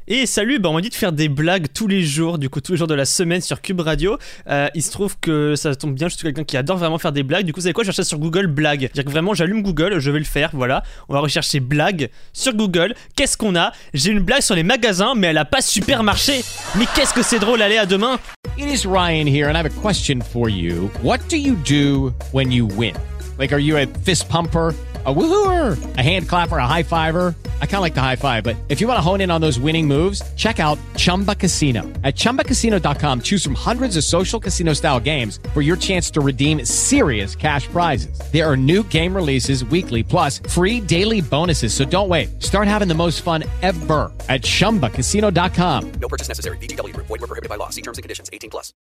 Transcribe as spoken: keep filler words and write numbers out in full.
Et salut, bah on m'a dit de faire des blagues tous les jours, du coup tous les jours de la semaine sur Cube Radio. Euh, il se trouve que ça tombe bien, je suis quelqu'un qui adore vraiment faire des blagues. Du coup, vous savez quoi, je cherche sur Google blagues. C'est-à-dire que vraiment, j'allume Google, je vais le faire, voilà. On va rechercher blagues sur Google. Qu'est-ce qu'on a? J'ai une blague sur les magasins, mais elle a pas super marché. Mais qu'est-ce que c'est drôle, allez, à demain. It is Ryan here, and I have a question for you. What do you do when you win? Like, are you a fist pumper? A woohooer, a hand clapper, a high fiver. I kind of like the high five, but if you want to hone in on those winning moves, check out Chumba Casino. At chumba casino dot com, choose from hundreds of social casino style games for your chance to redeem serious cash prizes. There are new game releases weekly, plus free daily bonuses. So don't wait. Start having the most fun ever at chumba casino dot com. No purchase necessary. V G W Group. Void where prohibited by law. See terms and conditions. eighteen plus.